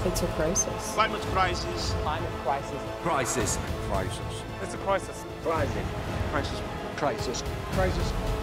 It's a crisis. Climate crisis. Climate crisis. Crisis. Crisis. It's a crisis. Crisis. Crisis. Crisis. Crisis.